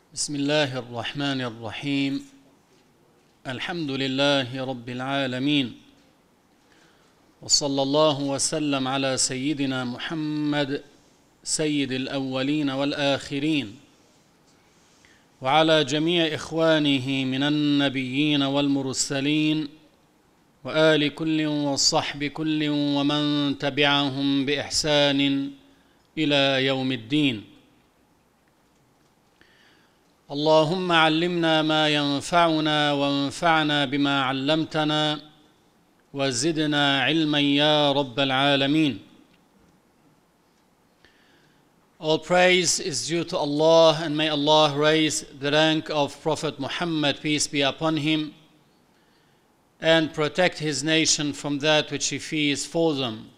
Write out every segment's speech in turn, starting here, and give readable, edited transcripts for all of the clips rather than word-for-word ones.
بسم الله الرحمن الرحيم. الحمد لله رب العالمين، وصلى الله وسلم على سيدنا محمد سيد الأولين والآخرين، وعلى جميع إخوانه من النبيين والمرسلين، وآل كل والصحب كل ومن تبعهم بإحسان إلى يوم الدين. اللهم علمنا ما ينفعنا وانفعنا بما علمتنا وزدنا علما يا رب العالمين. All praise is due to Allah, and may Allah raise the rank of Prophet Muhammad, peace be upon him, and protect his nation from that which he fears for them.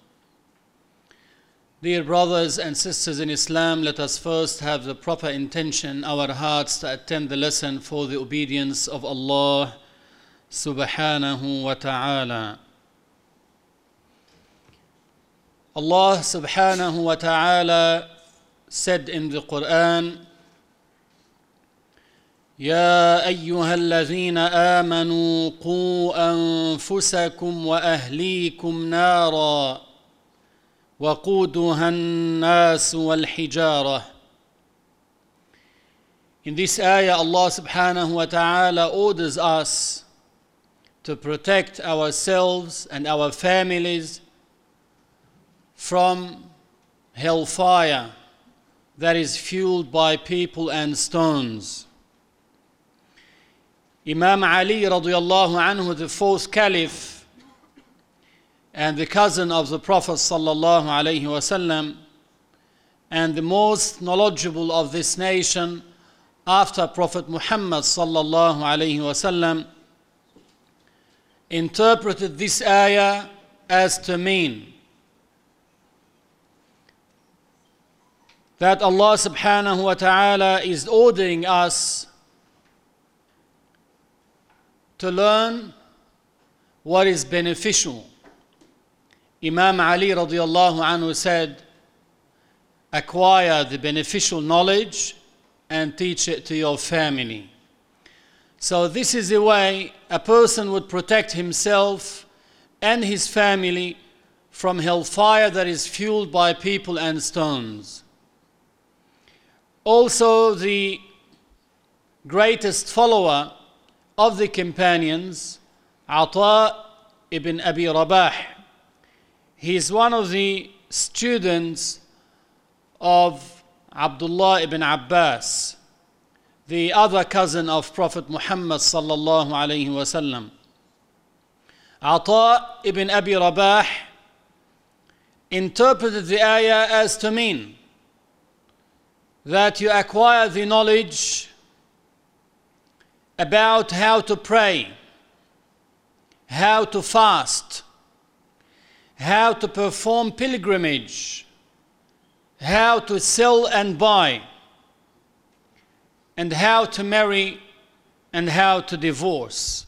Dear brothers and sisters in Islam, let us first have the proper intention in our hearts to attend the lesson for the obedience of Allah subhanahu wa ta'ala. Allah subhanahu wa ta'ala said in the Quran, يا أيها الذين آمنوا قوا أنفسكم وأهليكم نارا وقودها الناس والحجارة. In this ayah, Allah subhanahu wa ta'ala orders us to protect ourselves and our families from hellfire that is fueled by people and stones. Imam Ali radiallahu anhu, the fourth caliph and the cousin of the Prophet sallallahu alaihi wasallam, and the most knowledgeable of this nation after Prophet Muhammad sallallahu alaihi wasallam, interpreted this ayah as to mean that Allah subhanahu wa ta'ala is ordering us to learn what is beneficial. Imam Ali radiallahu anhu said, acquire the beneficial knowledge and teach it to your family. So this is the way a person would protect himself and his family from hellfire that is fueled by people and stones. Also, the greatest follower of the companions, Ata ibn Abi Rabah, he is one of the students of Abdullah ibn Abbas, the other cousin of Prophet Muhammad sallallahu alaihi wasallam. Ata ibn Abi Rabah interpreted the ayah as to mean that you acquire the knowledge about how to pray, how to fast, how to perform pilgrimage, how to sell and buy, and how to marry and how to divorce.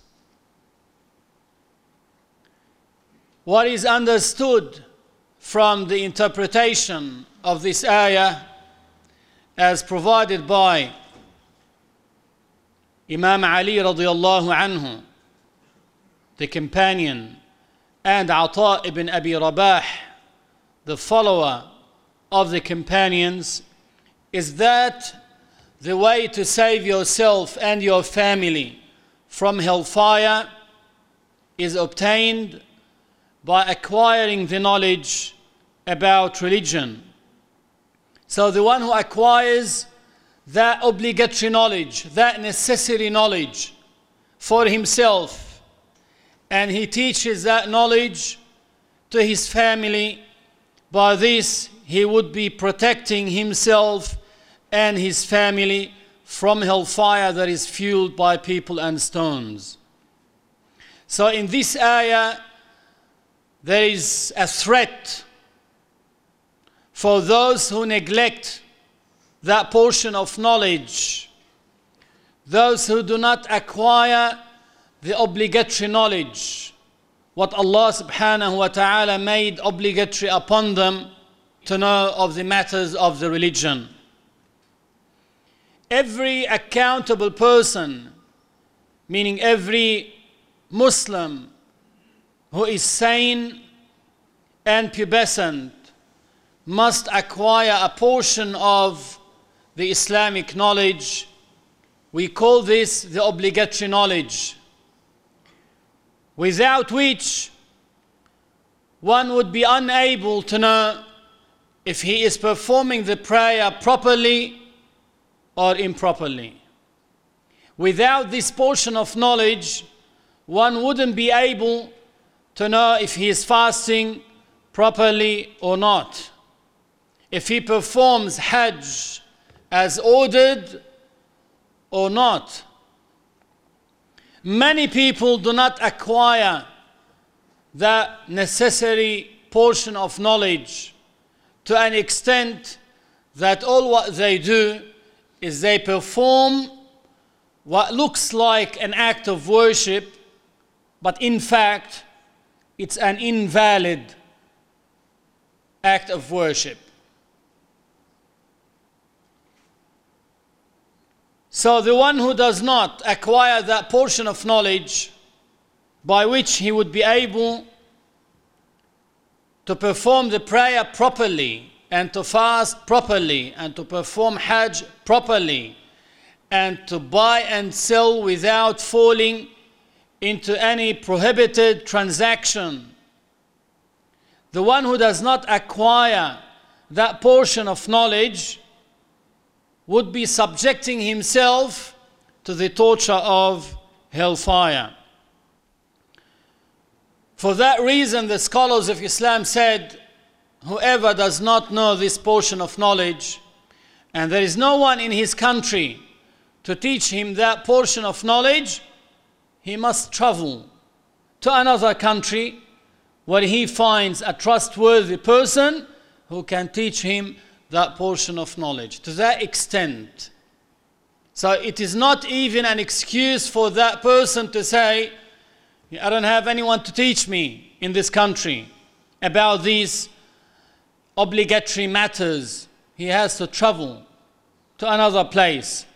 What is understood from the interpretation of this ayah as provided by Imam Ali radiallahu anhu, the companion, and Ata ibn Abi Rabah, the follower of the companions, is that the way to save yourself and your family from hellfire is obtained by acquiring the knowledge about religion. So the one who acquires that obligatory knowledge, that necessary knowledge for himself, and he teaches that knowledge to his family, by this he would be protecting himself and his family from hellfire that is fueled by people and stones. So in this ayah, there is a threat for those who neglect that portion of knowledge, those who do not acquire the obligatory knowledge, what Allah subhanahu wa ta'ala made obligatory upon them to know of the matters of the religion. every accountable person, meaning every Muslim who is sane and pubescent, must acquire a portion of the Islamic knowledge. We call this the obligatory knowledge, without which one would be unable to know if he is performing the prayer properly or improperly. Without this portion of knowledge, one wouldn't be able to know if he is fasting properly or not, if he performs Hajj as ordered or not. Many people do not acquire that necessary portion of knowledge to an extent that all what they do is they perform what looks like an act of worship, but in fact it's an invalid act of worship. So the one who does not acquire that portion of knowledge by which he would be able to perform the prayer properly and to fast properly and to perform Hajj properly and to buy and sell without falling into any prohibited transaction, the one who does not acquire that portion of knowledge would be subjecting himself to the torture of hellfire. For that reason, the scholars of Islam said, whoever does not know this portion of knowledge, and there is no one in his country to teach him that portion of knowledge, he must travel to another country where he finds a trustworthy person who can teach him that portion of knowledge to that extent. So it is not even an excuse for that person to say, I don't have anyone to teach me in this country about these obligatory matters. He has to travel to another place.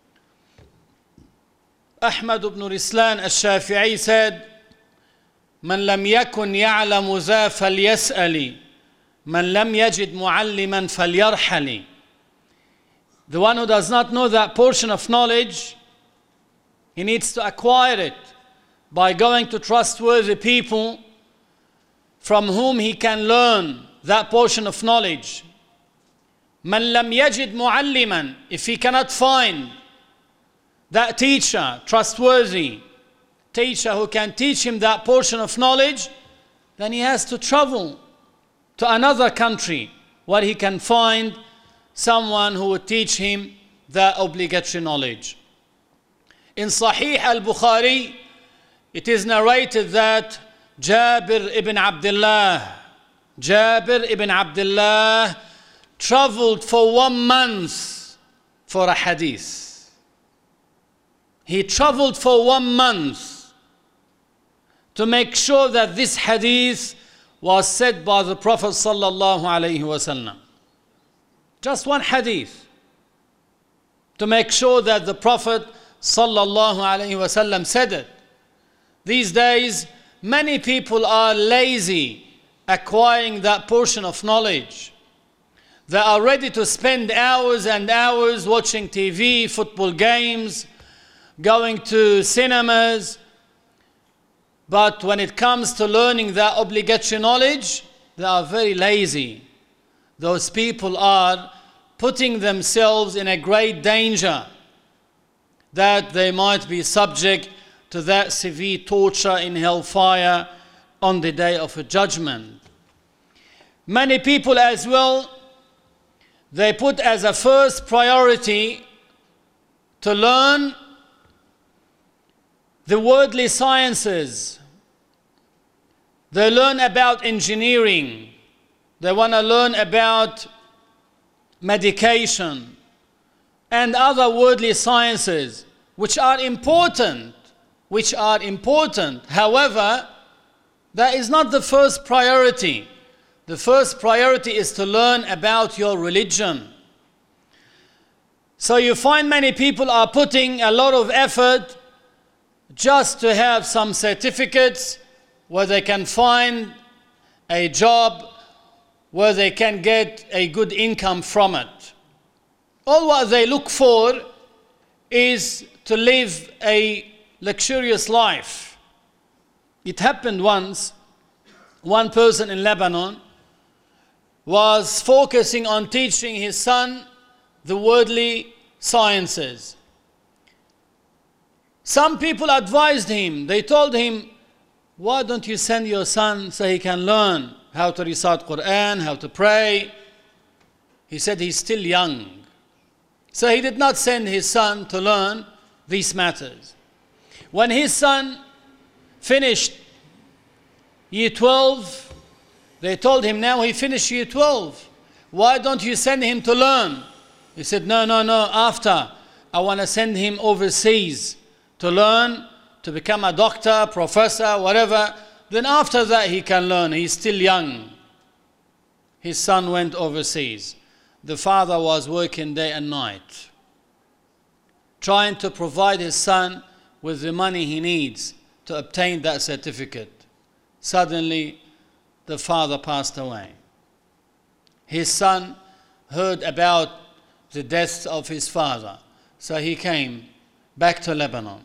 Ahmad ibn Rislan al-Shafi'i said, من لم يكن يعلم ذا فليسأل من لم يجد معلما فليرحل. The one who does not know that portion of knowledge, he needs to acquire it by going to trustworthy people from whom he can learn that portion of knowledge. من لم يجد معلما, if he cannot find that teacher, trustworthy teacher who can teach him that portion of knowledge, then he has to travel to another country where he can find someone who would teach him that obligatory knowledge. In Sahih al-Bukhari, it is narrated that Jabir ibn Abdullah traveled for 1 month for a hadith. He traveled for 1 month to make sure that this hadith was said by the Prophet sallallahu alaihi wasallam. Just one hadith to make sure that the Prophet sallallahu alaihi wasallam said it. These days, many people are lazy acquiring that portion of knowledge. They are ready to spend hours and hours watching TV, football games, going to cinemas. But when it comes to learning that obligatory knowledge, they are very lazy. Those people are putting themselves in a great danger that they might be subject to that severe torture in hellfire on the day of judgment. Many people as well, they put as a first priority to learn the worldly sciences. They learn about engineering. They want to learn about medication and other worldly sciences, which are important. However, that is not the first priority. The first priority is to learn about your religion. So you find many people are putting a lot of effort just to have some certificates where they can find a job where they can get a good income from it. All what they look for is to live a luxurious life. It happened once, one person in Lebanon was focusing on teaching his son the worldly sciences. Some people advised him, they told him, why don't you send your son so he can learn how to recite Quran, how to pray? He said he's still young. So he did not send his son to learn these matters. When his son finished year 12, they told him, now he finished year 12. Why don't you send him to learn? He said, no, after. I want to send him overseas to learn, to become a doctor, professor, whatever. Then after that he can learn. He's still young. His son went overseas. The father was working day and night, trying to provide his son with the money he needs to obtain that certificate. Suddenly, the father passed away. His son heard about the death of his father, so he came back to Lebanon.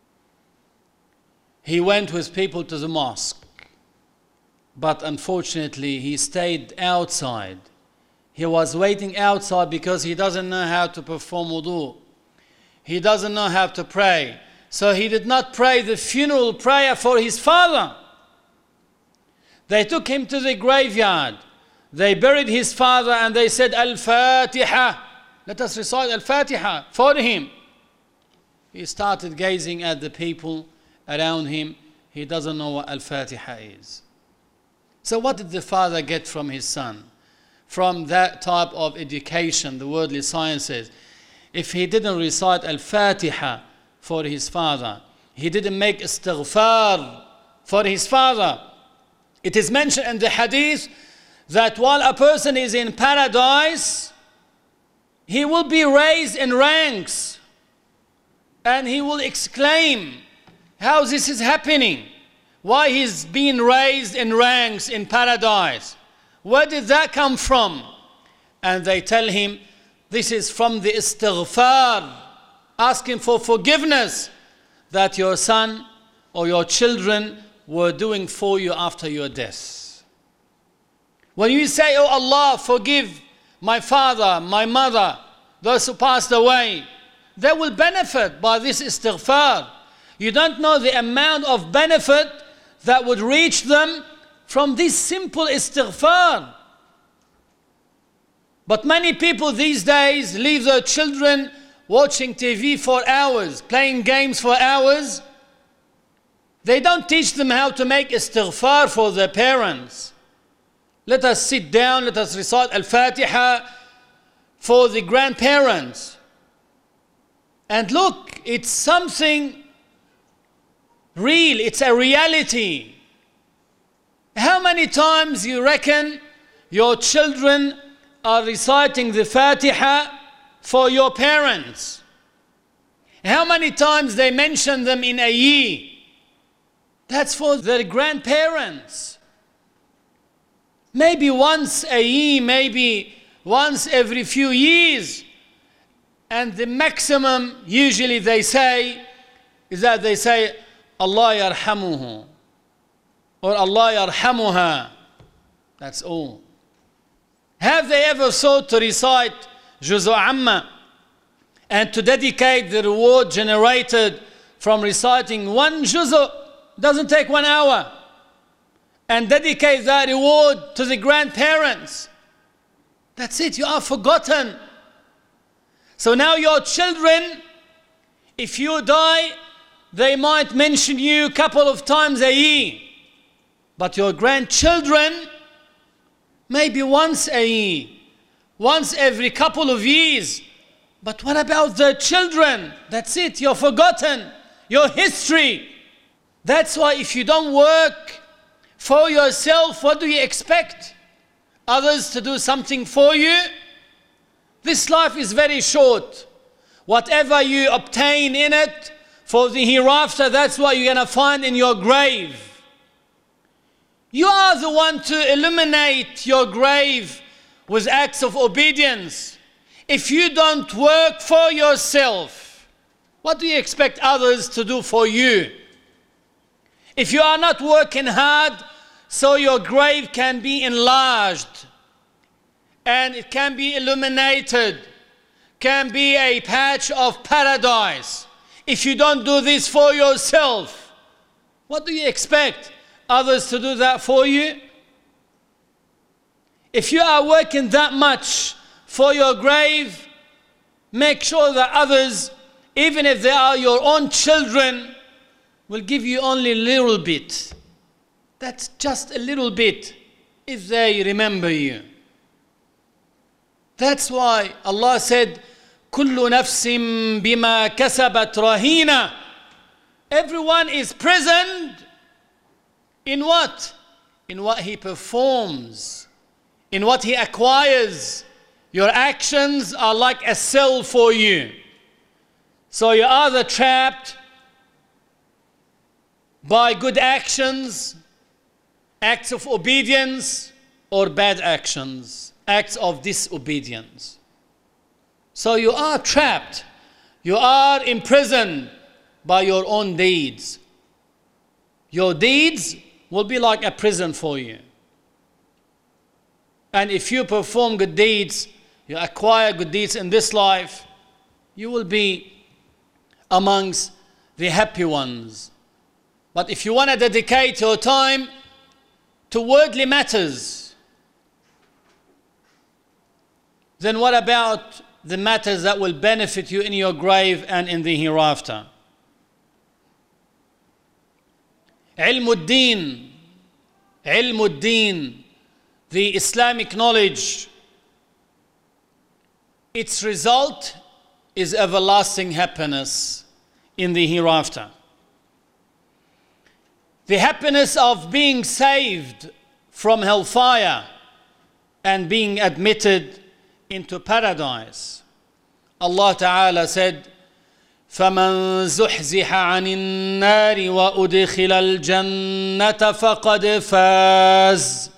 He went with people to the mosque, but unfortunately he stayed outside. He was waiting outside because he doesn't know how to perform wudu. He doesn't know how to pray. So he did not pray the funeral prayer for his father. They took him to the graveyard. They buried his father and they said, Al-Fatiha. Let us recite Al-Fatiha for him. He started gazing at the people around him. He doesn't know what Al-Fatiha is. So what did the father get from his son? From that type of education, the worldly sciences. If he didn't recite Al-Fatiha for his father, he didn't make istighfar for his father. It is mentioned in the hadith that while a person is in paradise, he will be raised in ranks and he will exclaim, how this is happening? Why he's being raised in ranks in paradise? Where did that come from? And they tell him, this is from the istighfar, asking for forgiveness that your son or your children were doing for you after your death. When you say, oh Allah, forgive my father, my mother, those who passed away, they will benefit by this istighfar. You don't know the amount of benefit that would reach them from this simple istighfar. But many people these days leave their children watching TV for hours, playing games for hours. They don't teach them how to make istighfar for their parents. Let us sit down, let us recite Al-Fatiha for the grandparents. And look, it's something real, it's a reality. How many times you reckon your children are reciting the Fatiha for your parents? How many times they mention them in a year? That's for their grandparents. Maybe once a year, maybe once every few years. And the maximum usually they say is that they say, Allah yarhamuhu or Allah yarhamuha. That's all. Have they ever thought to recite Juzu Amma and to dedicate the reward generated from reciting one Juzu? Doesn't take 1 hour. And dedicate that reward to the grandparents. That's it, you are forgotten. So now your children, if you die, they might mention you a couple of times a year. But your grandchildren, maybe once a year, once every couple of years. But what about the children? That's it, you're forgotten. Your history. That's why if you don't work for yourself, what do you expect? Others to do something for you? This life is very short. Whatever you obtain in it for the hereafter, that's what you're going to find in your grave. You are the one to illuminate your grave with acts of obedience. If you don't work for yourself, what do you expect others to do for you? If you are not working hard so your grave can be enlarged and it can be illuminated, can be a patch of paradise. If you don't do this for yourself, what do you expect others to do that for you? If you are working that much for your grave, make sure that others, even if they are your own children, will give you only a little bit. That's just a little bit if they remember you. That's why Allah said, كُلُّ نَفْسٍ بِمَا كَسَبَتْ رَهِينَةٌ. Everyone is present in what? In what he performs, in what he acquires. Your actions are like a cell for you. So you're either trapped by good actions, acts of obedience, or bad actions, acts of disobedience. So you are trapped. You are imprisoned by your own deeds. Your deeds will be like a prison for you. And if you perform good deeds, you acquire good deeds in this life, you will be amongst the happy ones. But if you want to dedicate your time to worldly matters, then what about the matters that will benefit you in your grave and in the hereafter? Ilmuddin, the Islamic knowledge, its result is everlasting happiness in the hereafter. The happiness of being saved from hellfire and being admitted into paradise. Allah Ta'ala said, فَمَنْ زُحْزِحَ عَنِ النَّارِ وَأُدْخِلَ الْجَنَّةَ فَقَدْ فَازَ.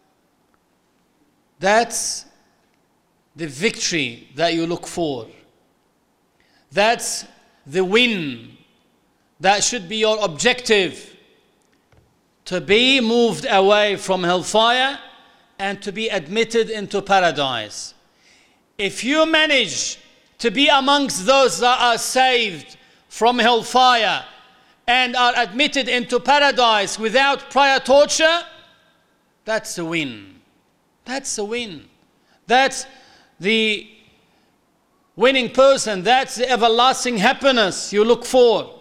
That's the victory that you look for. That's the win. That should be your objective. To be moved away from hellfire and to be admitted into paradise. If you manage to be amongst those that are saved from hellfire and are admitted into paradise without prior torture, that's a win. That's a win. That's the winning person. That's the everlasting happiness you look for.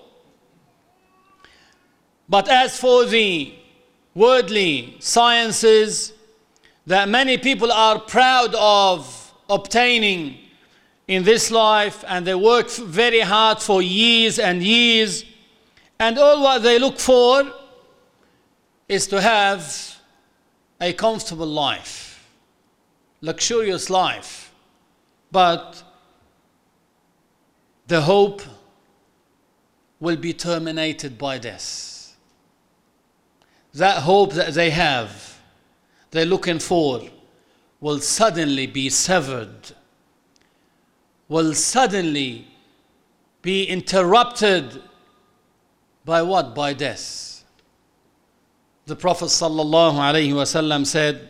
But as for the worldly sciences that many people are proud of obtaining in this life, and they work very hard for years and years, and all what they look for is to have a comfortable life, luxurious life. But the hope will be terminated by death. That hope that they have, they're looking for, will suddenly be severed, will suddenly be interrupted by what? By death. The Prophet sallallahu alaihi wasallam said,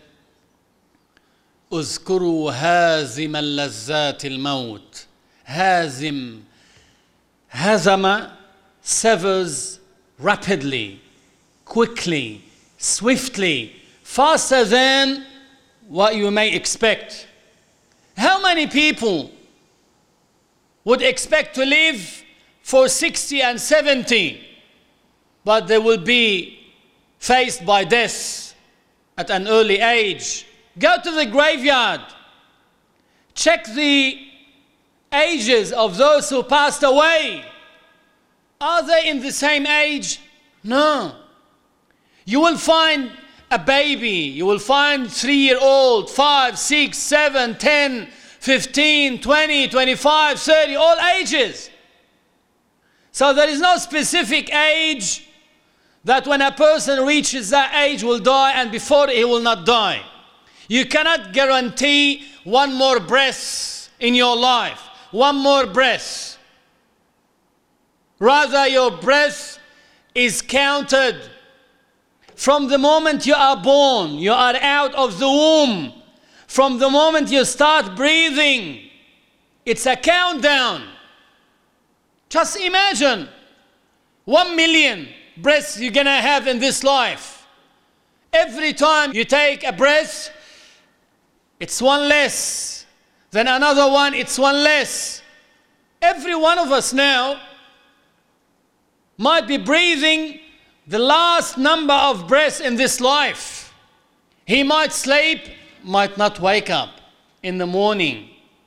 اذكروا هازم اللذات الموت. Hazim, hazama, severs rapidly, quickly, swiftly, faster than what you may expect. How many people would expect to live for 60 and 70, but they will be faced by death at an early age? Go to the graveyard. Check the ages of those who passed away. Are they in the same age? No. You will find a baby, you will find 3-year-old, 5, 6, 7, 10, 15, 20, 25, 30, all ages. So there is no specific age that when a person reaches that age will die and before he will not die. You cannot guarantee one more breath in your life, one more breath. Rather, your breath is counted from the moment you are born, you are out of the womb. From the moment you start breathing, it's a countdown. Just imagine 1 million breaths you're gonna have in this life. Every time you take a breath, it's one less. Then another one, it's one less. Every one of us now might be breathing the last number of breaths in this life. He might sleep, might not wake up in the morning.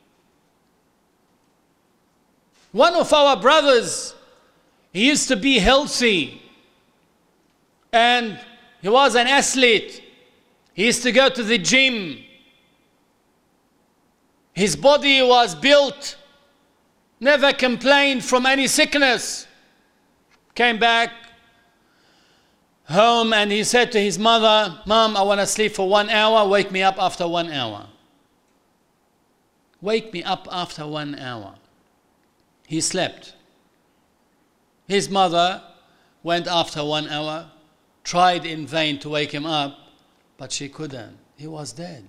One of our brothers, he used to be healthy and he was an athlete. He used to go to the gym. His body was built, never complained from any sickness. Came back home and he said to his mother, "Mom, I want to sleep for 1 hour, wake me up after 1 hour." Wake me up after 1 hour. He slept. His mother went after 1 hour, tried in vain to wake him up, but she couldn't. He was dead.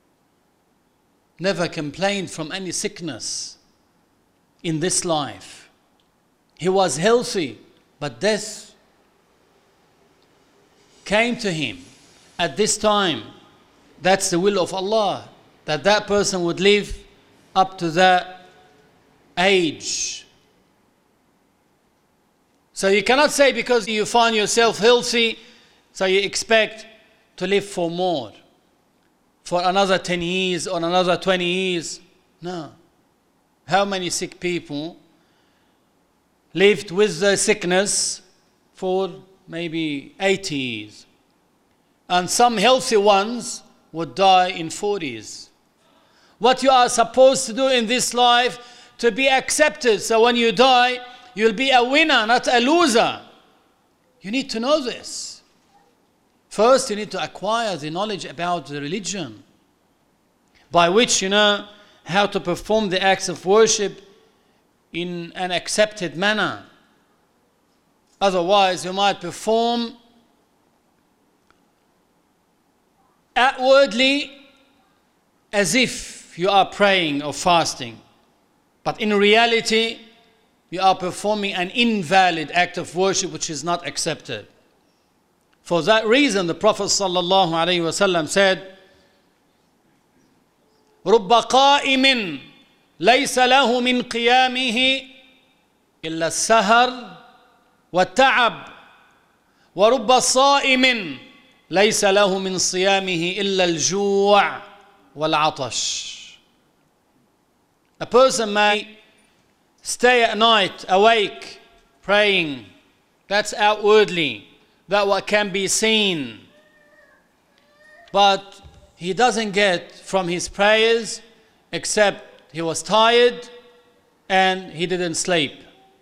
Never complained from any sickness in this life. He was healthy, but death came to him at this time. That's the will of Allah, that that person would live up to that age. So you cannot say because you find yourself healthy, so you expect to live for more, for another 10 years or another 20 years. No. How many sick people lived with the sickness for maybe 80 years? And some healthy ones would die in 40s. What you are supposed to do in this life to be accepted, so when you die, you'll be a winner, not a loser. You need to know this. First, you need to acquire the knowledge about the religion, by which you know how to perform the acts of worship in an accepted manner. Otherwise, you might perform outwardly as if you are praying or fasting, but in reality, you are performing an invalid act of worship which is not accepted. For that reason, the Prophet ﷺ said, رُبَّ قَائِمٍ لَيْسَ لَهُ مِنْ قِيَامِهِ إِلَّا السَّهَرُ وَالتَّعَبُ وَرُبَّ صَائِمٍ لَيْسَ لَهُ مِنْ صِيَامِهِ إِلَّا الْجُوعُ وَالْعَطَشُ. A person may stay at night awake, praying. That's outwardly, that what can be seen. But he doesn't get from his prayers except he was tired and he didn't sleep.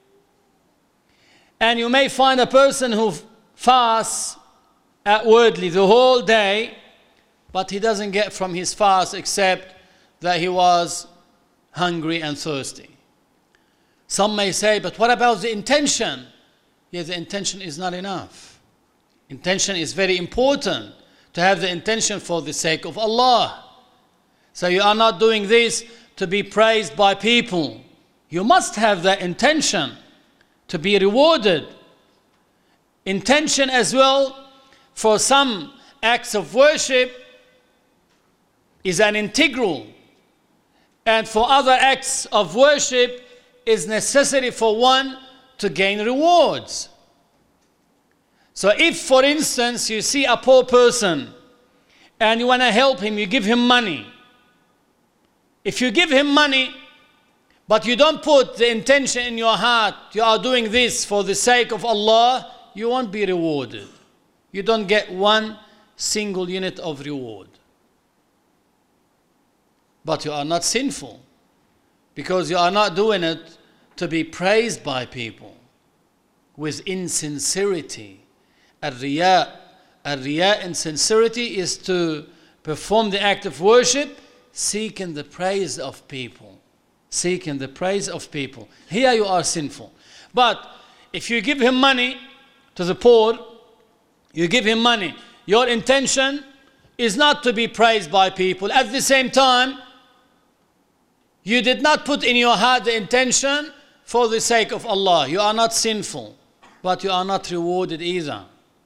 And you may find a person who fasts outwardly the whole day, but he doesn't get from his fast except that he was hungry and thirsty. Some may say, but what about the intention? Yes, the intention is not enough. Intention is very important, to have the intention for the sake of Allah. So you are not doing this to be praised by people. You must have the intention to be rewarded. Intention as well for some acts of worship is an integral, and for other acts of worship is necessary for one to gain rewards. So if, for instance, you see a poor person and you want to help him, you give him money. If you give him money, but you don't put the intention in your heart, you are doing this for the sake of Allah, you won't be rewarded. You don't get one single unit of reward. but you are not sinful, because you are not doing it to be praised by people with insincerity. Al-riya insincerity is to perform the act of worship seeking the praise of people. Seeking the praise of people. Here you are sinful. But if you give him money to the poor, you give him money, your intention is not to be praised by people. At the same time, you did not put in your heart the intention for the sake of Allah. You are not sinful, but you are not rewarded either.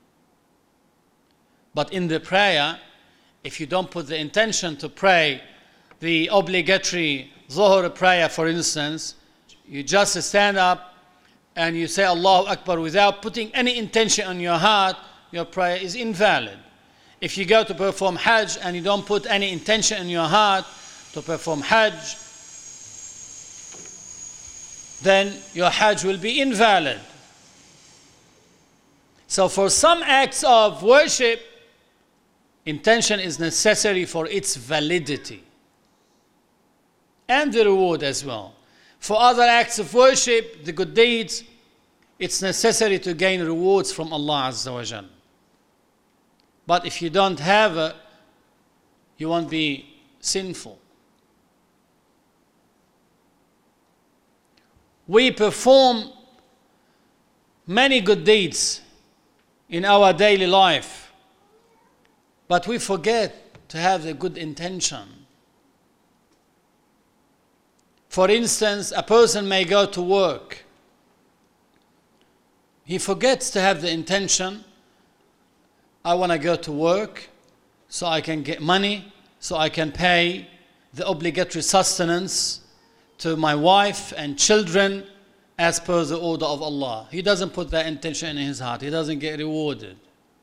But in the prayer, if you don't put the intention to pray the obligatory Zuhr prayer, for instance, you just stand up and you say Allahu Akbar without putting any intention on your heart, your prayer is invalid. If you go to perform Hajj and you don't put any intention in your heart to perform Hajj, then your Hajj will be invalid. So for some acts of worship, intention is necessary for its validity and the reward as well. For other acts of worship, the good deeds, it's necessary to gain rewards from Allah Azza wa Jal. But if you don't have it, you won't be sinful. We perform many good deeds in our daily life, but we forget to have the good intention. For instance, a person may go to work. He forgets to have the intention, I want to go to work so I can get money, so I can pay the obligatory sustenance to my wife and children as per the order of Allah. He doesn't put that intention in his heart. He doesn't get rewarded.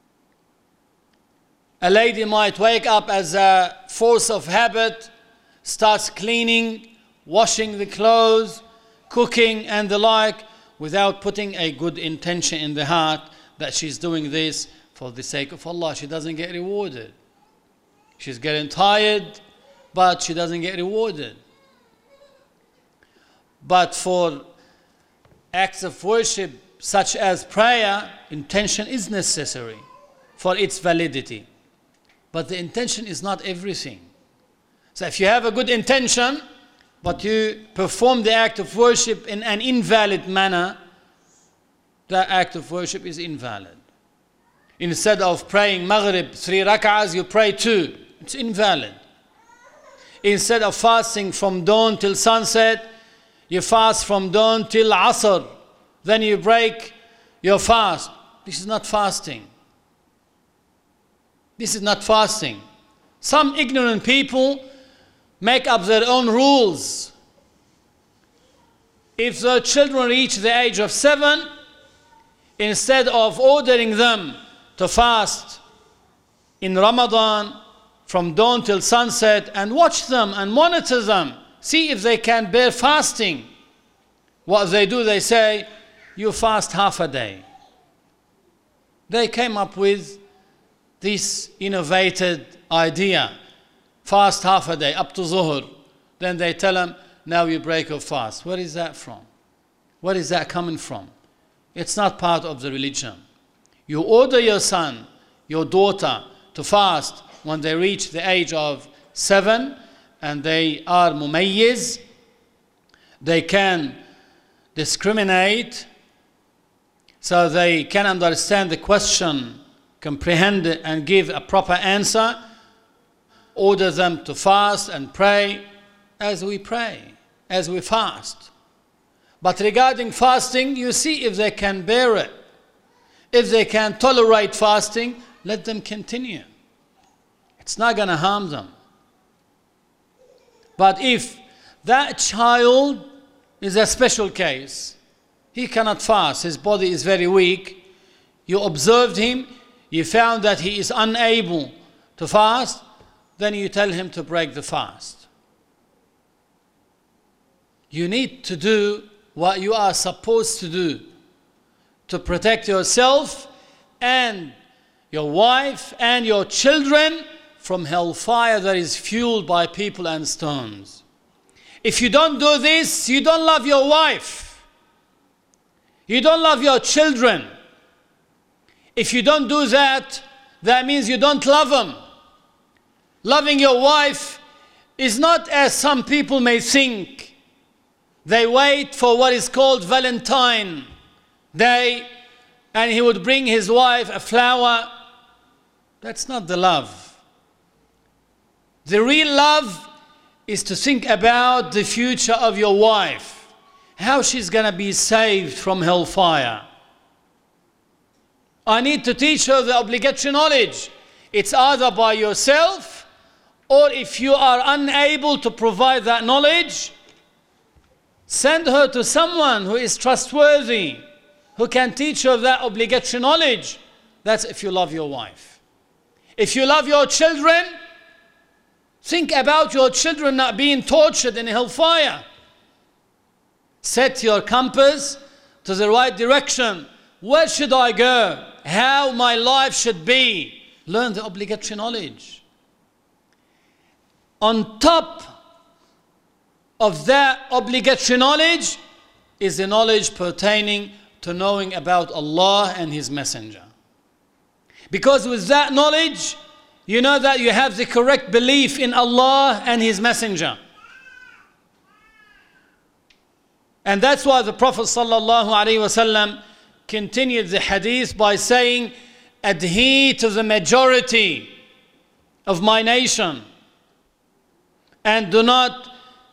A lady might wake up as a force of habit, starts cleaning, washing the clothes, cooking and the like, without putting a good intention in the heart that she's doing this for the sake of Allah. She doesn't get rewarded. She's getting tired, but she doesn't get rewarded. But for acts of worship such as prayer, intention is necessary for its validity. But the intention is not everything. So if you have a good intention, but you perform the act of worship in an invalid manner, that act of worship is invalid. Instead of praying Maghrib 3 rak'ahs, you pray 2. It's invalid. Instead of fasting from dawn till sunset, you fast from dawn till Asr. Then you break your fast. This is not fasting. This is not fasting. Some ignorant people make up their own rules. If their children reach the age of 7, instead of ordering them to fast in Ramadan from dawn till sunset and watch them and monitor them, see if they can bear fasting, what they do, they say, you fast half a day. They came up with this innovated idea. Fast half a day, up to Zuhr. Then they tell them, now you break your fast. Where is that from? Where is that coming from? It's not part of the religion. You order your son, your daughter to fast when they reach the age of 7 and they are mumayyiz. They can discriminate, so they can understand the question, comprehend it and give a proper answer. Order them to fast and pray as we pray, as we fast. But regarding fasting, you see if they can bear it. If they can tolerate fasting, let them continue. It's not going to harm them. But if that child is a special case, he cannot fast, his body is very weak, you observed him, you found that he is unable to fast, then you tell him to break the fast. You need to do what you are supposed to do to protect yourself and your wife and your children from hellfire that is fueled by people and stones. If you don't do this, you don't love your wife. You don't love your children. If you don't do that, that means you don't love them. Loving your wife is not as some people may think. They wait for what is called Valentine Day, and he would bring his wife a flower. That's not the love. The real love is to think about the future of your wife, how she's going to be saved from hellfire. I need to teach her the obligatory knowledge. It's either by yourself, or if you are unable to provide that knowledge, send her to someone who is trustworthy, who can teach her that obligatory knowledge. That's if you love your wife. If you love your children, think about your children not being tortured in hellfire. Set your compass to the right direction. Where should I go? How my life should be? Learn the obligatory knowledge. On top of that obligatory knowledge is the knowledge pertaining to knowing about Allah and His Messenger. Because with that knowledge, you know that you have the correct belief in Allah and His Messenger. And that's why the Prophet ﷺ continued the hadith by saying, adhere to the majority of my nation and do not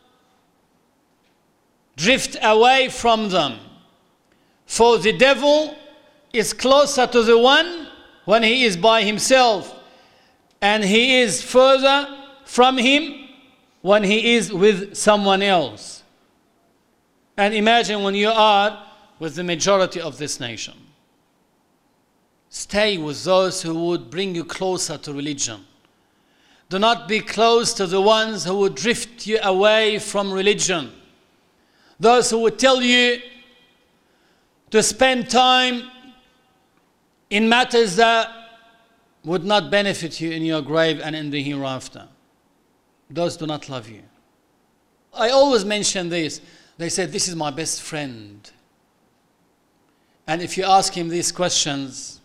drift away from them. For the devil is closer to the one when he is by himself, and he is further from him when he is with someone else. And imagine when you are with the majority of this nation. Stay with those who would bring you closer to religion. Do not be close to the ones who would drift you away from religion. Those who would tell you to spend time in matters that would not benefit you in your grave and in the hereafter. Those do not love you. I always mention this. They say, this is my best friend. And if you ask him these questions,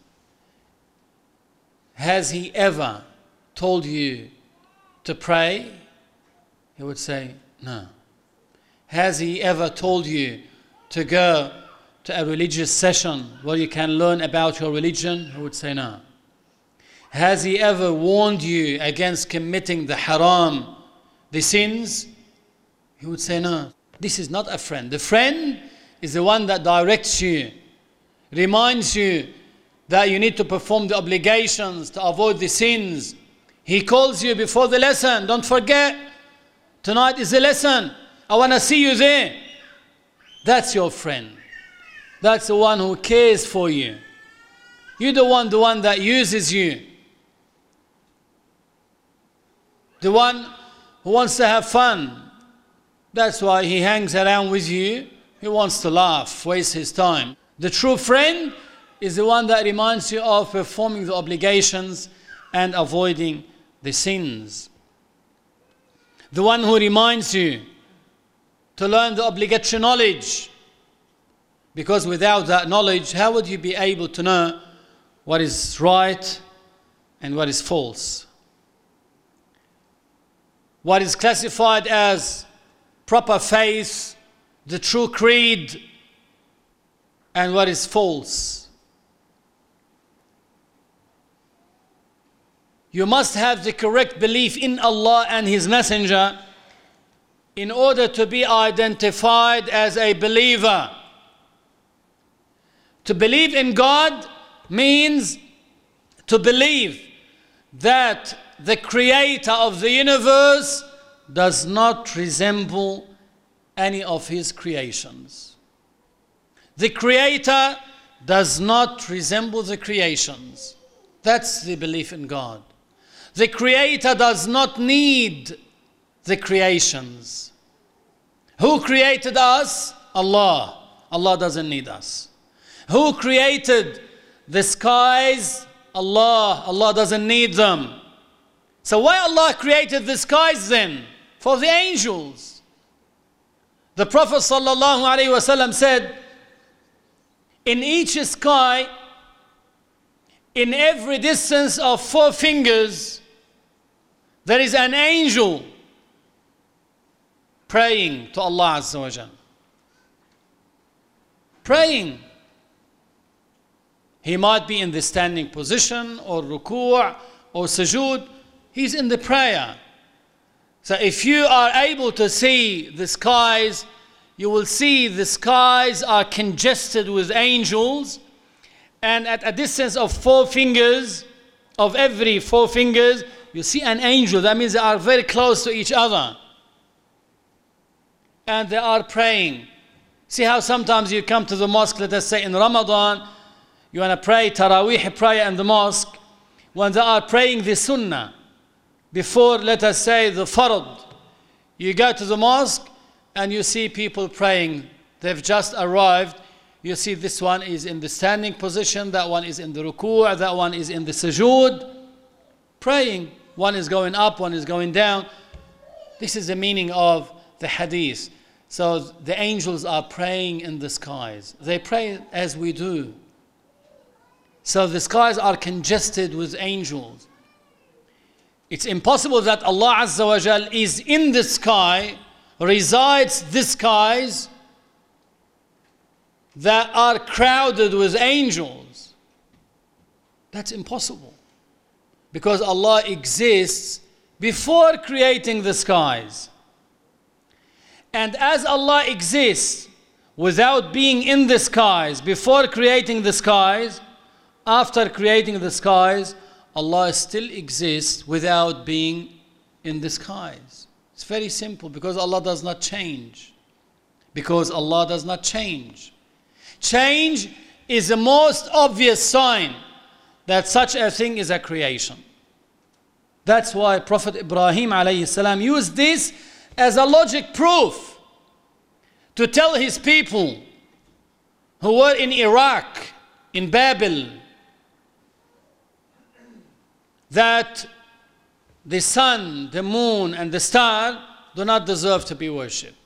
has he ever told you to pray? He would say, no. Has he ever told you to go to a religious session where you can learn about your religion? He would say, no. Has he ever warned you against committing the haram, the sins? He would say, no. This is not a friend. The friend is the one that directs you, reminds you that you need to perform the obligations to avoid the sins. He calls you before the lesson. Don't forget, tonight is the lesson. I want to see you there. That's your friend. That's the one who cares for you. You're the one that uses you. The one who wants to have fun. That's why he hangs around with you. He wants to laugh, waste his time. The true friend is the one that reminds you of performing the obligations and avoiding the sins. The one who reminds you to learn the obligatory knowledge. Because without that knowledge, how would you be able to know what is right and what is false? What is classified as proper faith, the true creed, and what is false. You must have the correct belief in Allah and His Messenger in order to be identified as a believer. To believe in God means to believe that the Creator of the universe does not resemble any of His creations. The Creator does not resemble the creations. That's the belief in God. The Creator does not need the creations. Who created us? Allah. Allah doesn't need us. Who created the skies? Allah. Allah doesn't need them. So why Allah created the skies then? For the angels. The Prophet ﷺ said, in each sky, in every distance of 4 fingers, there is an angel praying to Allah Azza wa Jal. Praying. He might be in the standing position or ruku' or sujood. He's in the prayer. So if you are able to see the skies, you will see the skies are congested with angels, and at a distance of 4 fingers, of every 4 fingers, you see an angel. That means they are very close to each other. And they are praying. See how sometimes you come to the mosque, let us say in Ramadan, you want to pray Taraweeh prayer in the mosque, when they are praying the Sunnah, before, let us say, the Fard, you go to the mosque and you see people praying. They've just arrived. You see this one is in the standing position, that one is in the ruku', that one is in the sujood, praying. One is going up, one is going down. This is the meaning of the hadith. So the angels are praying in the skies. They pray as we do. So the skies are congested with angels. It's impossible that Allah Azza wa Jal is in the sky, resides the skies that are crowded with angels. That's impossible. Because Allah exists before creating the skies. And as Allah exists without being in the skies, before creating the skies, after creating the skies, Allah still exists without being in the skies. It's very simple, because Allah does not change. Because Allah does not change. Change is the most obvious sign that such a thing is a creation. That's why Prophet Ibrahim alayhi salam used this as a logic proof to tell his people who were in Iraq, in Babel, that the sun, the moon, and the star do not deserve to be worshipped.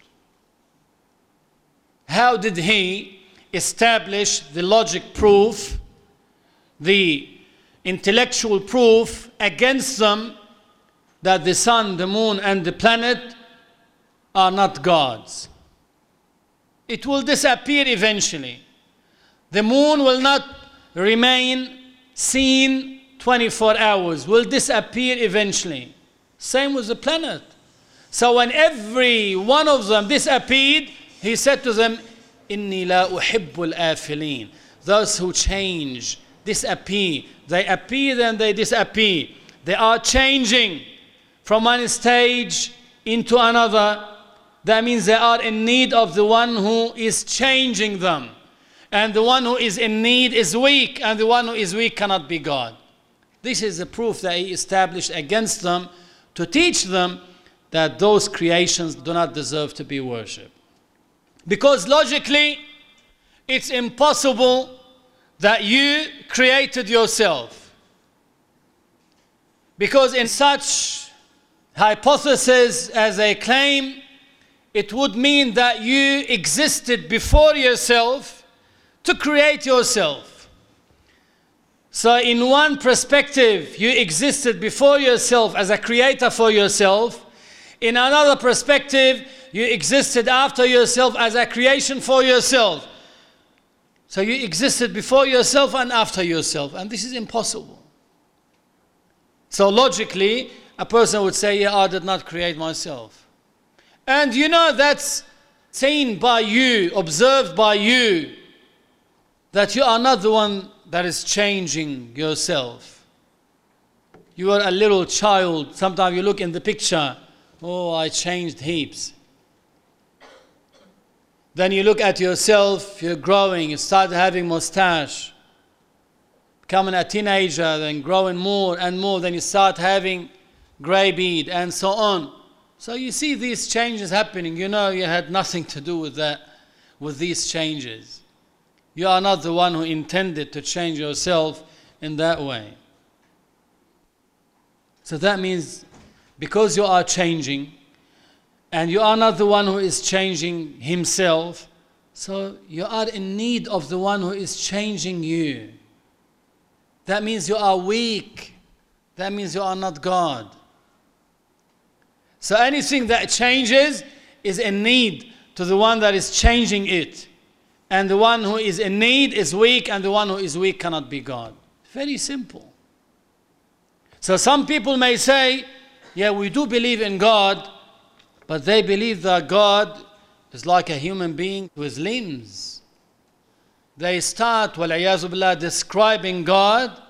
How did he establish the logic proof, the intellectual proof against them that the sun, the moon, and the planet are not gods? It will disappear eventually. The moon will not remain seen 24 hours, will disappear eventually. Same with the planet. So when every one of them disappeared, he said to them, إِنِّي لَا أُحِبُّ الْآفِلِينَ. Those who change, disappear. They appear, then they disappear. They are changing from one stage into another. That means they are in need of the one who is changing them. And the one who is in need is weak, and the one who is weak cannot be God. This is the proof that he established against them to teach them that those creations do not deserve to be worshipped. Because logically, it's impossible that you created yourself. Because in such hypothesis as they claim, it would mean that you existed before yourself to create yourself. So in one perspective, you existed before yourself as a creator for yourself. In another perspective, you existed after yourself as a creation for yourself. So you existed before yourself and after yourself. And this is impossible. So logically, a person would say, yeah, I did not create myself. And you know that's seen by you, observed by you, that you are not the one that is changing yourself. You are a little child. Sometimes you look in the picture, oh, I changed heaps. Then you look at yourself, you're growing, you start having mustache. Becoming a teenager, then growing more and more, then you start having gray beard and so on. So you see these changes happening. You know you had nothing to do with that, with these changes. You are not the one who intended to change yourself in that way. So that means because you are changing and you are not the one who is changing himself, so you are in need of the one who is changing you. That means you are weak. That means you are not God. So anything that changes is in need to the one that is changing it. And the one who is in need is weak, and the one who is weak cannot be God. Very simple. So some people may say, yeah, we do believe in God, but they believe that God is like a human being with limbs. They start, wal-iyazu billah, describing God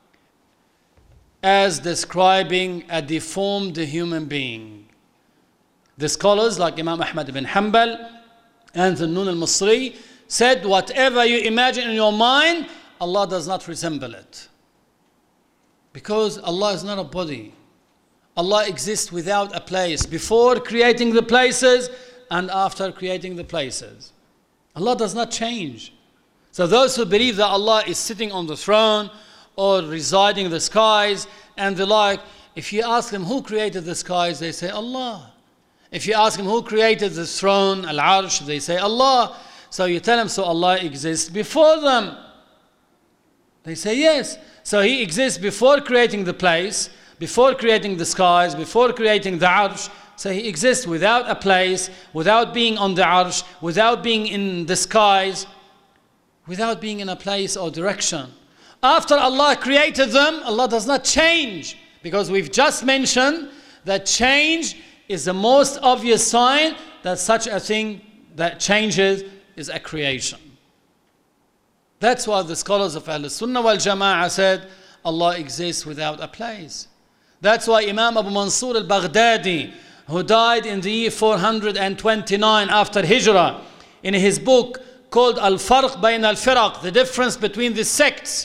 as describing a deformed human being. The scholars like Imam Ahmad ibn Hanbal and Dhunnun al-Masri said, whatever you imagine in your mind, Allah does not resemble it. Because Allah is not a body. Allah exists without a place, before creating the places and after creating the places. Allah does not change. So those who believe that Allah is sitting on the throne or residing in the skies and the like, if you ask them who created the skies, they say Allah. If you ask them who created the throne, Al-Arsh, they say Allah. So you tell them, so Allah exists before them. They say yes. So He exists before creating the place, before creating the skies, before creating the Arsh. So He exists without a place, without being on the Arsh, without being in the skies, without being in a place or direction. After Allah created them, Allah does not change. Because we've just mentioned that change is the most obvious sign that such a thing that changes is a creation. That's why the scholars of Ahl Sunnah wal Jama'ah said Allah exists without a place. That's why Imam Abu Mansur al-Baghdadi, who died in the year 429 after Hijrah, in his book called Al-Farq Bayn al-Firaq, the difference between the sects,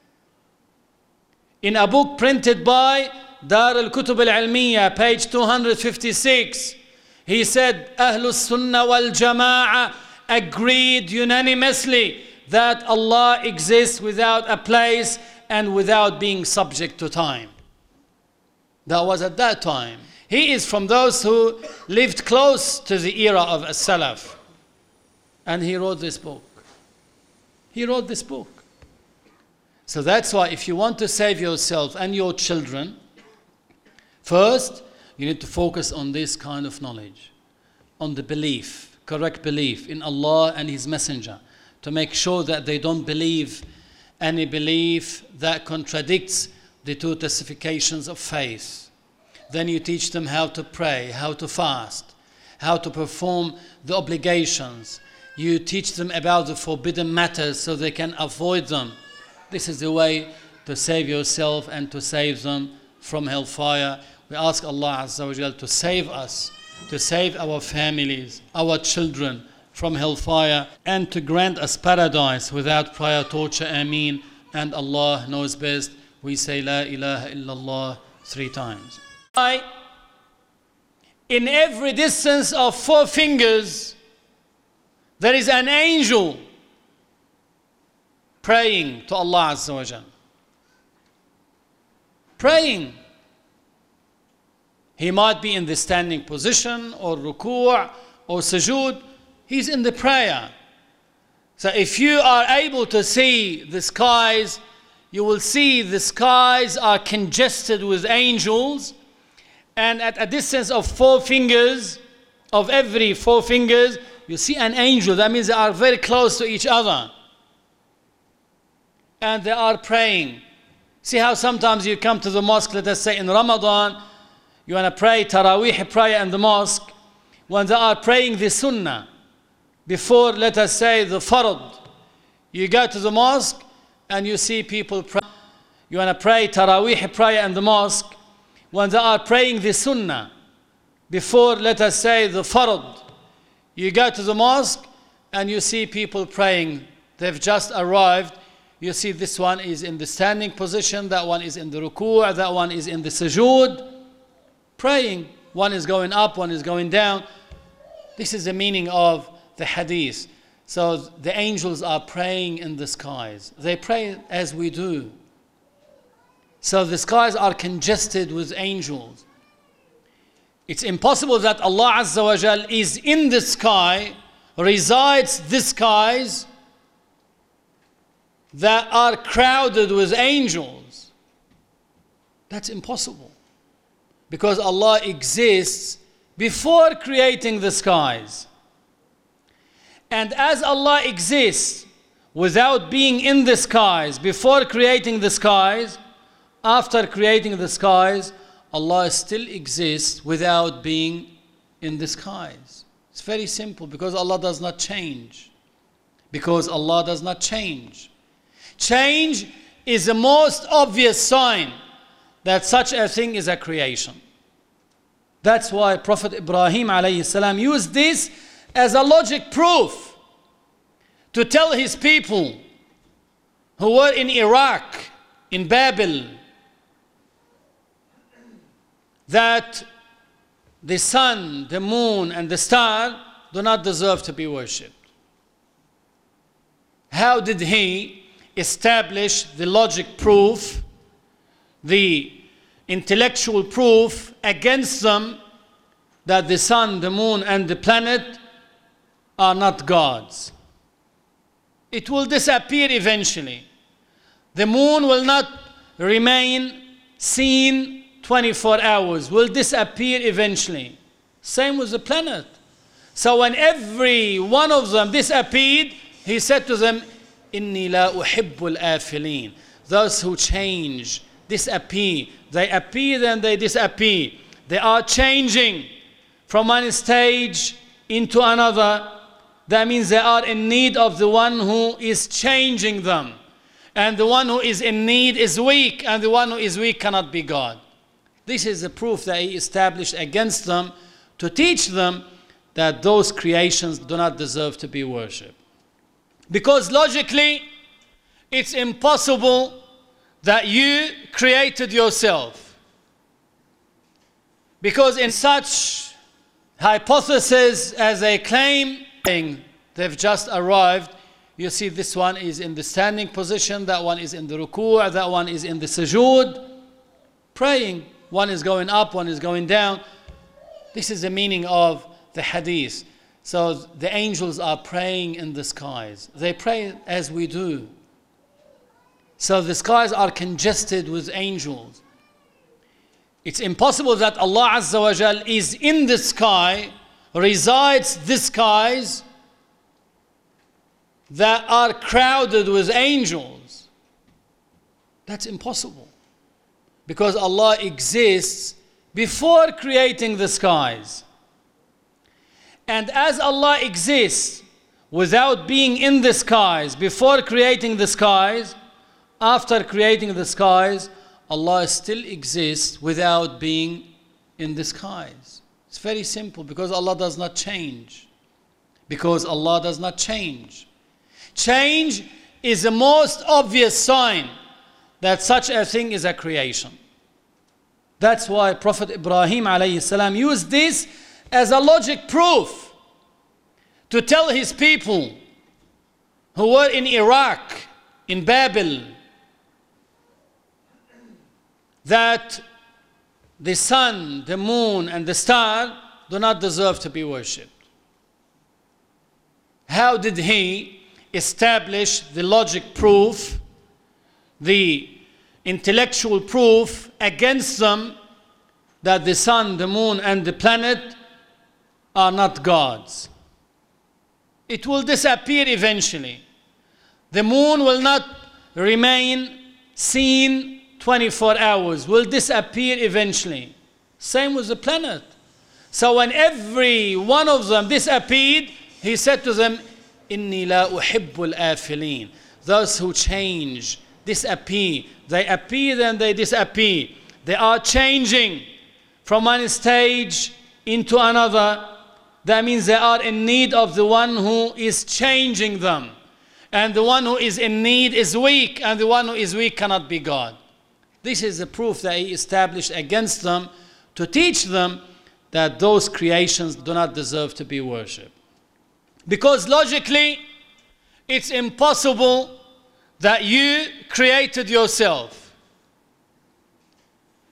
in a book printed by Dar al-Kutub al-Ilmiya, page 256, he said, Ahlus Sunnah wal Jama'ah agreed unanimously that Allah exists without a place and without being subject to time. That was at that time. He is from those who lived close to the era of As-Salaf. And he wrote this book. He wrote this book. So that's why if you want to save yourself and your children, first, you need to focus on this kind of knowledge, on the belief, correct belief in Allah and His Messenger, to make sure that they don't believe any belief that contradicts the two testifications of faith. Then you teach them how to pray, how to fast, how to perform the obligations. You teach them about the forbidden matters so they can avoid them. This is the way to save yourself and to save them from hellfire. We ask Allah Azza wa Jal to save us, to save our families, our children from hellfire, and to grant us paradise without prior torture. Ameen. And Allah knows best. We say La ilaha illallah 3 times. In every distance of 4 fingers, there is an angel praying to Allah Azza wa Jal. Praying. He might be in the standing position or ruku' or sujood. He's in the prayer. So if you are able to see the skies, you will see the skies are congested with angels, and at a distance of 4 fingers, of every 4 fingers, you see an angel. That means they are very close to each other. And they are praying. See how sometimes you come to the mosque, let us say in Ramadan, you want to pray Taraweeh prayer in the mosque, when they are praying the Sunnah, before, let us say, the Fard, you go to the mosque and you see people pray. You want to pray Taraweeh prayer in the mosque, when they are praying the Sunnah, before, let us say, the Fard, you go to the mosque and you see people praying. They've just arrived. You see this one is in the standing position, that one is in the ruku', that one is in the sujood, praying. One is going up, one is going down. This is the meaning of the hadith. So the angels are praying in the skies. They pray as we do. So the skies are congested with angels. It's impossible that Allah Azza wa Jal is in the sky, resides the skies that are crowded with angels. That's impossible. Because Allah exists before creating the skies. And as Allah exists without being in the skies, before creating the skies, after creating the skies, Allah still exists without being in the skies. It's very simple, because Allah does not change. Because Allah does not change. Change is the most obvious sign that such a thing is a creation. That's why Prophet Ibrahim alayhi salam used this as a logic proof to tell his people who were in Iraq, in Babel, that the sun, the moon, and the star do not deserve to be worshipped. How did he establish the logic proof, the intellectual proof against them that the sun, the moon, and the planet are not gods? It will disappear eventually. The moon will not remain seen 24 hours, will disappear eventually. Same with the planet. So when every one of them disappeared, he said to them, Inni la uhibbul afilin. Those who change, disappear. They appear, then they disappear. They are changing from one stage into another. That means they are in need of the one who is changing them. And the one who is in need is weak, and the one who is weak cannot be God. This is the proof that he established against them to teach them that those creations do not deserve to be worshipped. Because logically, it's impossible that you created yourself. Because in such hypothesis as they claim, they've just arrived. You see, this one is in the standing position, that one is in the ruku', that one is in the sujood, praying. One is going up, one is going down. This is the meaning of the hadith. So the angels are praying in the skies. They pray as we do. So the skies are congested with angels. It's impossible that Allah Azza wa Jal is in the sky, resides the skies that are crowded with angels. That's impossible. Because Allah exists before creating the skies. And as Allah exists without being in the skies, before creating the skies, after creating the skies, Allah still exists without being in the skies. It's very simple, because Allah does not change. Because Allah does not change. Change is the most obvious sign that such a thing is a creation. That's why Prophet Ibrahim alayhi salam used this as a logic proof to tell his people who were in Iraq, in Babel, that the sun, the moon, and the star do not deserve to be worshipped. How did he establish the logic proof, the intellectual proof against them that the sun, the moon, and the planet are not gods? It will disappear eventually. The moon will not remain seen 24 hours, will disappear eventually. Same with the planet. So when every one of them disappeared, he said to them, Inni la uhibbul afilin. Those who change, disappear. They appear, then they disappear. They are changing from one stage into another. That means they are in need of the one who is changing them. And the one who is in need is weak, and the one who is weak cannot be God. This is the proof that he established against them to teach them that those creations do not deserve to be worshipped. Because logically, it's impossible that you created yourself.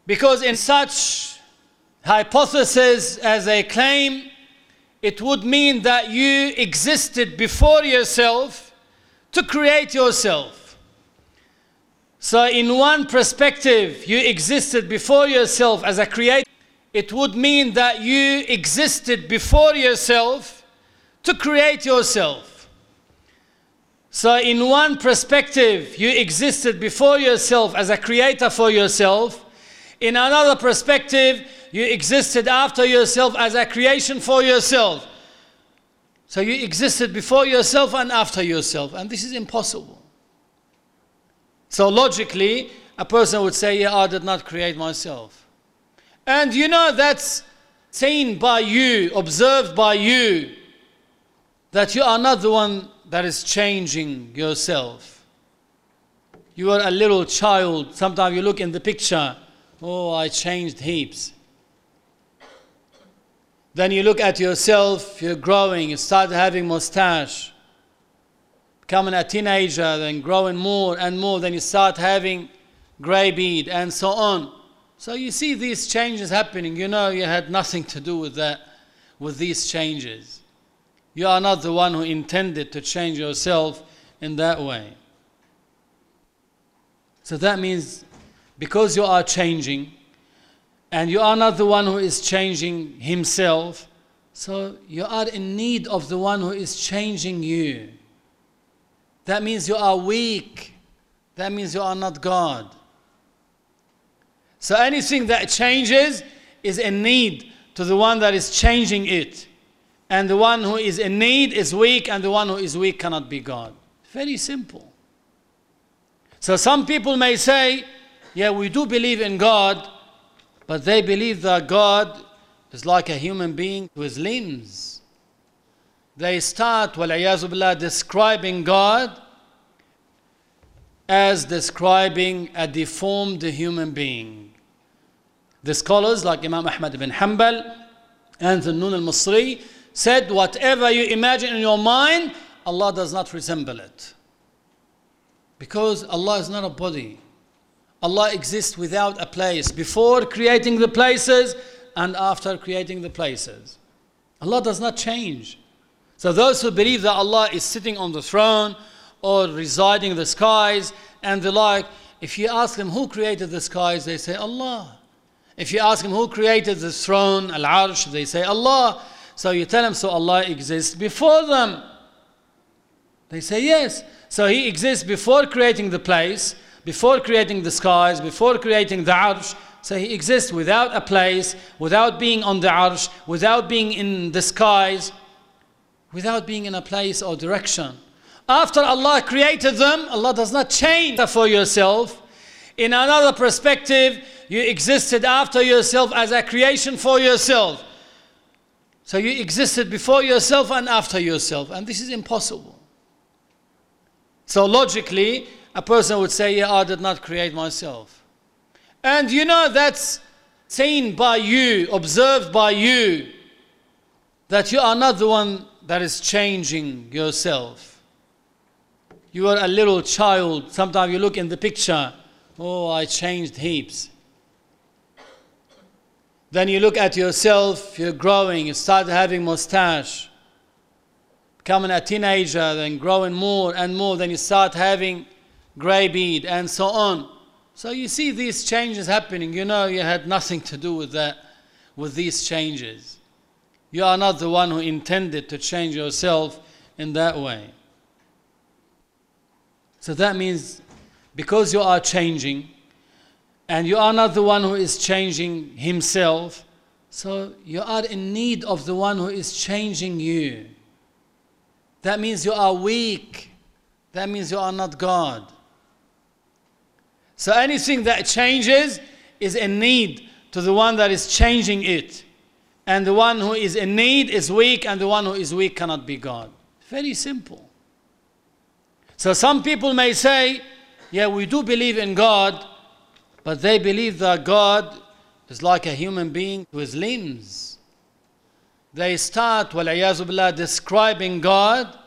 Because in such hypothesis as a claim, it would mean that you existed before yourself to create yourself. So in one perspective, you existed before yourself as a creator. It would mean that you existed before yourself to create yourself. So in one perspective, you existed before yourself as a creator for yourself. In another perspective, you existed after yourself as a creation for yourself. So you existed before yourself and after yourself, and this is impossible. So logically, a person would say, yeah, I did not create myself. And you know that's seen by you, observed by you, that you are not the one that is changing yourself. You are a little child. Sometimes you look in the picture, oh, I changed heaps. Then you look at yourself, you're growing, you start having mustache. Becoming a teenager, then growing more and more, then you start having gray beard and so on. So you see these changes happening. You know you had nothing to do with that, with these changes. You are not the one who intended to change yourself in that way. So that means because you are changing, and you are not the one who is changing himself, so you are in need of the one who is changing you. That means you are weak. That means you are not God. So anything that changes is in need to the one that is changing it. And the one who is in need is weak, and the one who is weak cannot be God. Very simple. So some people may say, yeah, we do believe in God, but they believe that God is like a human being with limbs. They start, wal-iyazu billah, describing God as describing a deformed human being. The scholars like Imam Ahmad ibn Hanbal and Dhunnun al-Masri said, whatever you imagine in your mind, Allah does not resemble it. Because Allah is not a body. Allah exists without a place, before creating the places and after creating the places. Allah does not change. So those who believe that Allah is sitting on the throne or residing in the skies and the like, if you ask them who created the skies, they say Allah. If you ask them who created the throne, Al-Arsh, they say Allah. So you tell them, so Allah exists before them. They say yes. So He exists before creating the place, before creating the skies, before creating the Arsh. So He exists without a place, without being on the Arsh, without being in the skies, without being in a place or direction. After Allah created them, Allah does not change for yourself. In another perspective, you existed after yourself as a creation for yourself. So you existed before yourself and after yourself, and this is impossible. So logically, a person would say, yeah, I did not create myself. And you know that's seen by you, observed by you, that you are not the one that is changing yourself. You are a little child. Sometimes you look in the picture, oh, I changed heaps. Then you look at yourself, you're growing, you start having mustache. Becoming a teenager, then growing more and more, then you start having gray beard and so on. So you see these changes happening. You know you had nothing to do with that, with these changes. You are not the one who intended to change yourself in that way. So that means because you are changing, and you are not the one who is changing himself, so you are in need of the one who is changing you. That means you are weak. That means you are not God. So anything that changes is in need to the one that is changing it. And the one who is in need is weak, and the one who is weak cannot be God. Very simple. So some people may say, yeah, we do believe in God, but they believe that God is like a human being with limbs. They start, wal-iyazu billah, describing God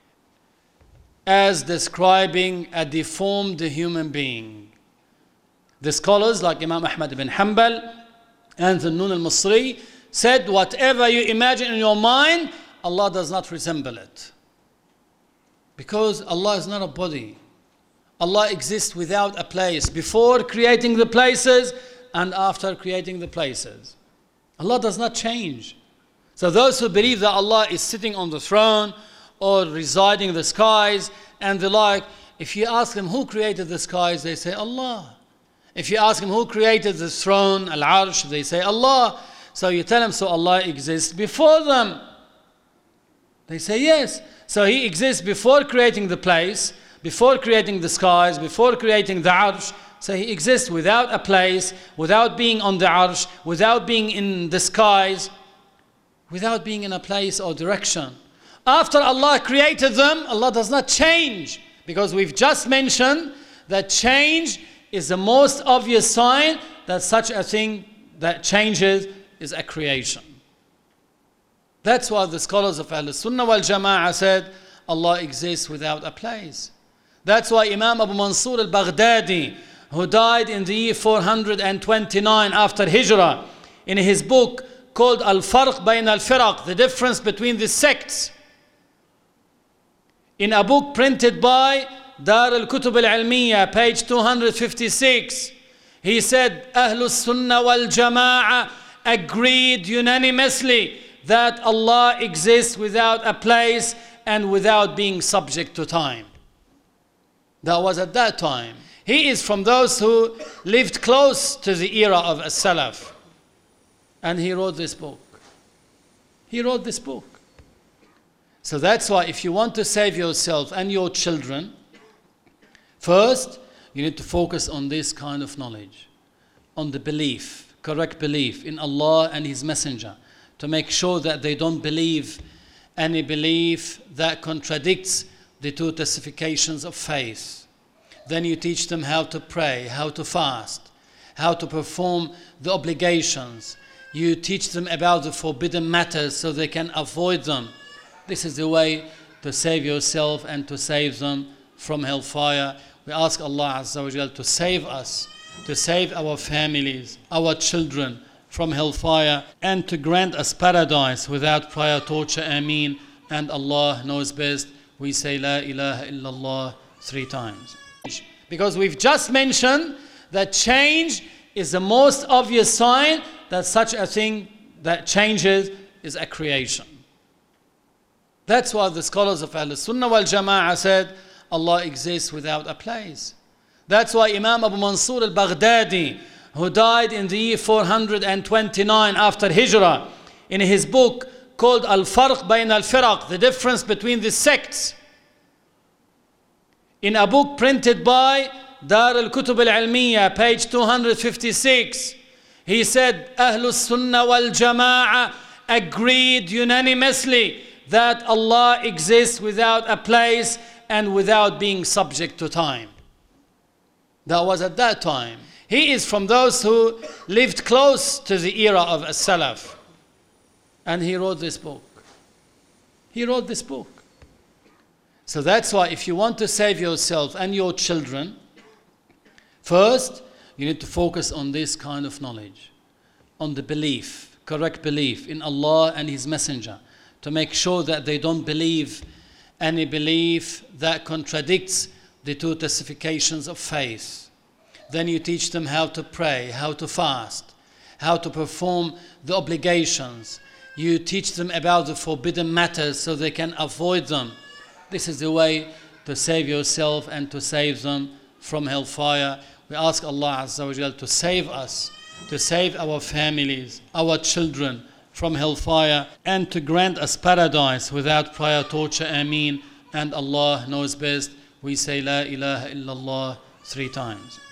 as describing a deformed human being. The scholars like Imam Ahmad ibn Hanbal and the Nun al-Masri said, whatever you imagine in your mind, Allah does not resemble it. Because Allah is not a body. Allah exists without a place, before creating the places and after creating the places. Allah does not change. So those who believe that Allah is sitting on the throne or residing in the skies and the like, if you ask them who created the skies, they say Allah. If you ask them who created the throne, Al-Arsh, they say Allah. So you tell them, so Allah exists before them. They say yes. So He exists before creating the place, before creating the skies, before creating the Arsh. So He exists without a place, without being on the Arsh, without being in the skies, without being in a place or direction. After Allah created them, Allah does not change. Because we've just mentioned that change is the most obvious sign that such a thing that changes is a creation. That's why the scholars of Ahl-Sunnah wal Jama'ah said Allah exists without a place. That's why Imam Abu Mansur al-Baghdadi, who died in the year 429 after Hijrah, in his book called Al-Farq Bayn al-Firaq, the difference between the sects, in a book printed by Dar al-Kutub al-Ilmiya, page 256, he said, Ahlus Sunnah wal Jama'ah agreed unanimously that Allah exists without a place and without being subject to time. That was at that time. He is from those who lived close to the era of As-Salaf. And he wrote this book. He wrote this book. So that's why if you want to save yourself and your children, first, you need to focus on this kind of knowledge, on the belief, correct belief in Allah and His Messenger, to make sure that they don't believe any belief that contradicts the two testifications of faith. Then you teach them how to pray, how to fast, how to perform the obligations. You teach them about the forbidden matters so they can avoid them. This is the way to save yourself and to save them from hellfire. We ask Allah Azza wa Jal to save us, to save our families, our children from hellfire, and to grant us paradise without prior torture. Ameen. And Allah knows best. We say La ilaha illallah 3 times. Because we've just mentioned that change is the most obvious sign that such a thing that changes is a creation. That's why the scholars of Ahl-Sunnah wal Jama'ah said Allah exists without a place. That's why Imam Abu Mansur al-Baghdadi, who died in the year 429 after Hijrah, in his book called Al-Farq Bayn al-Firaq, the difference between the sects, in a book printed by Dar al-Kutub al-Ilmiya, page 256, he said, Ahlus Sunnah wal Jama'ah agreed unanimously that Allah exists without a place and without being subject to time. That was at that time. He is from those who lived close to the era of As-Salaf. And he wrote this book. He wrote this book. So that's why if you want to save yourself and your children, first, you need to focus on this kind of knowledge, on the belief, correct belief in Allah and His Messenger, to make sure that they don't believe any belief that contradicts the two testifications of faith. Then you teach them how to pray, how to fast, how to perform the obligations. You teach them about the forbidden matters so they can avoid them. This is the way to save yourself and to save them from hellfire. We ask Allah Azza wa Jal to save us, to save our families, our children from hellfire, and to grant us paradise without prior torture. Ameen. And Allah knows best. We say La ilaha illallah 3 times.